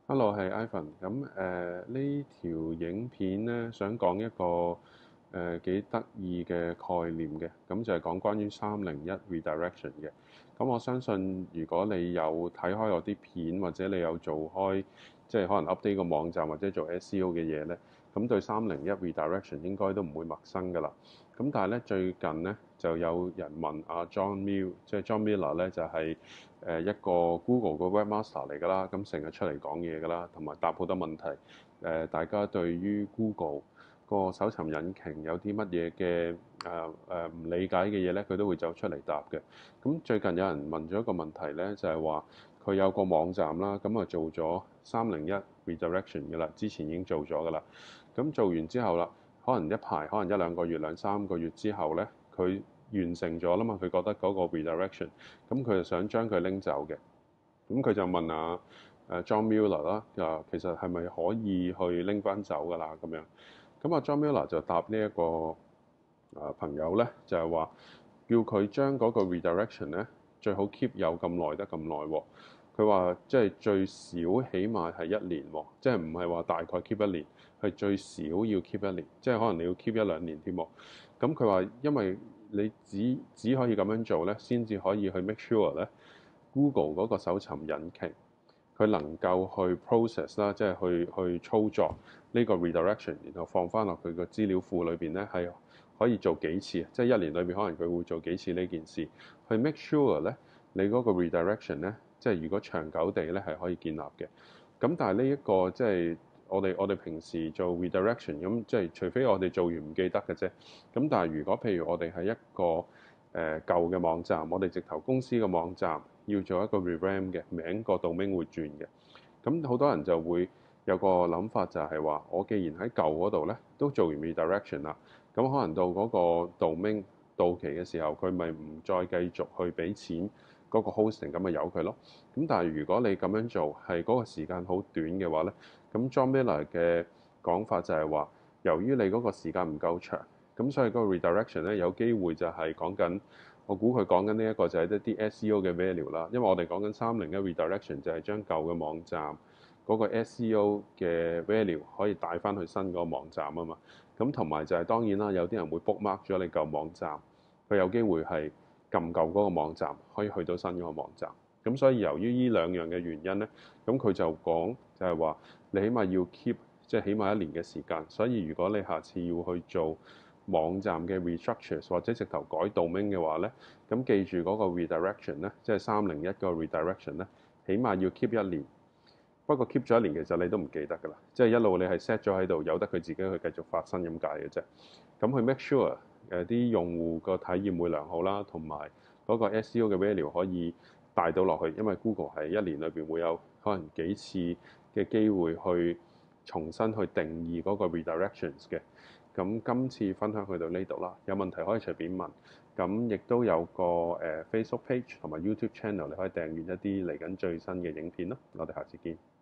Hello，係 Ivan。咁呢條影片咧，想講一個幾得意嘅概念嘅，咁就係講關於301 redirection 嘅。咁我相信如果你有睇開我啲片，或者你有做開即係可能 update 個網站或者做 SEO 嘅嘢咧，咁對301 redirection 應該都唔會陌生㗎啦。咁但係咧最近咧就有人問阿 John Mill，即係 John Miller 咧就係一個 Google 嘅 Webmaster 嚟㗎啦，咁成日出嚟講嘢㗎啦，同埋答好多問題。大家對於 Google 個搜尋引擎有啲乜嘢嘅唔理解嘅嘢咧，佢都會走出嚟答嘅。咁最近有人問咗一個問題咧，就係話佢有個網站啦，咁啊做咗301 redirection 㗎啦，之前已經做咗㗎啦。咁做完之後啦，可能一排，可能一兩個月、兩三個月之後咧，佢完成咗啦嘛，佢覺得嗰個 redirection，咁佢就想將佢拎走嘅。咁佢就問啊John Mueller 啦，其實係咪可以去拎翻走㗎啦咁樣？咁啊 John Mueller 就答呢一個朋友咧，就係話叫佢將嗰個 redirection 咧最好 keep 有咁耐得咁耐喎。佢話即係最少起碼係一年喎，即係唔係話大概 keep 一年，係最少要 keep 一年，即係可能你要 keep 一兩年添喎。咁佢話因為你只可以咁樣做咧，先至可以去 make sure 咧 Google 嗰個搜尋引擎佢能夠去 process 啦，即係去操作呢個 redirection，然後放翻落佢個資料庫裏邊咧，係可以做幾次，即係一年裏邊可能佢會做幾次呢件事，去 make sure 咧你嗰個 redirection 咧，即係如果長久地咧係可以建立嘅。咁但係呢一個即係我哋平時做 redirection 咁，即係除非我哋做完唔記得嘅啫。咁但係如果譬如我哋係一個舊嘅網站，我哋直頭公司嘅網站要做一個 revamp 嘅名，個 domain 會轉嘅。咁好多人就會有個諗法就係話，我既然喺舊嗰度咧都做完 redirection 啦，咁可能到嗰個 domain 到期嘅時候，佢咪唔再繼續去俾錢嗰個 hosting，咁咪由佢咯。咁但係如果你咁樣做係嗰個時間好短嘅話咧，咁 John Miller 嘅講法就係話，由於你嗰個時間唔夠長。咁所以嗰個 redirection 咧有機會就係講緊，我估佢講緊呢一個就係一啲 SEO 嘅 value 啦。因為我哋講緊301 redirection 就係將舊嘅網站嗰個 SEO 嘅 value 可以帶翻去新嗰個網站啊嘛。咁同埋就係當然啦，有啲人會 bookmark 咗你舊網站，佢有機會係撳舊嗰個網站可以去到新嗰個網站。咁所以由於呢兩樣嘅原因咧，咁佢就講就係話你起碼要 keep 即係起碼一年嘅時間。所以如果你下次要去做網站嘅 restructure 或者直頭改 domain 嘅話咧，咁記住嗰個 redirection 咧，即係301個 redirection 咧，起碼要 keep 一年。不過 keep 咗一年其實你都唔記得㗎啦，即係一路你係 set 咗喺度，由得佢自己去繼續發生咁解嘅啫。咁去 make sure 啲用戶個體驗會良好啦，同埋嗰個 SEO 嘅 value 可以帶到落去，因為 Google 係一年裏邊會有可能幾次嘅機會去重新去定義嗰個 redirections 嘅。咁今次分享去到呢度啦，有問題可以隨便問。咁亦都有個Facebook page 同埋 YouTube channel，你可以訂閱一啲嚟緊最新嘅影片咯。我哋下次見。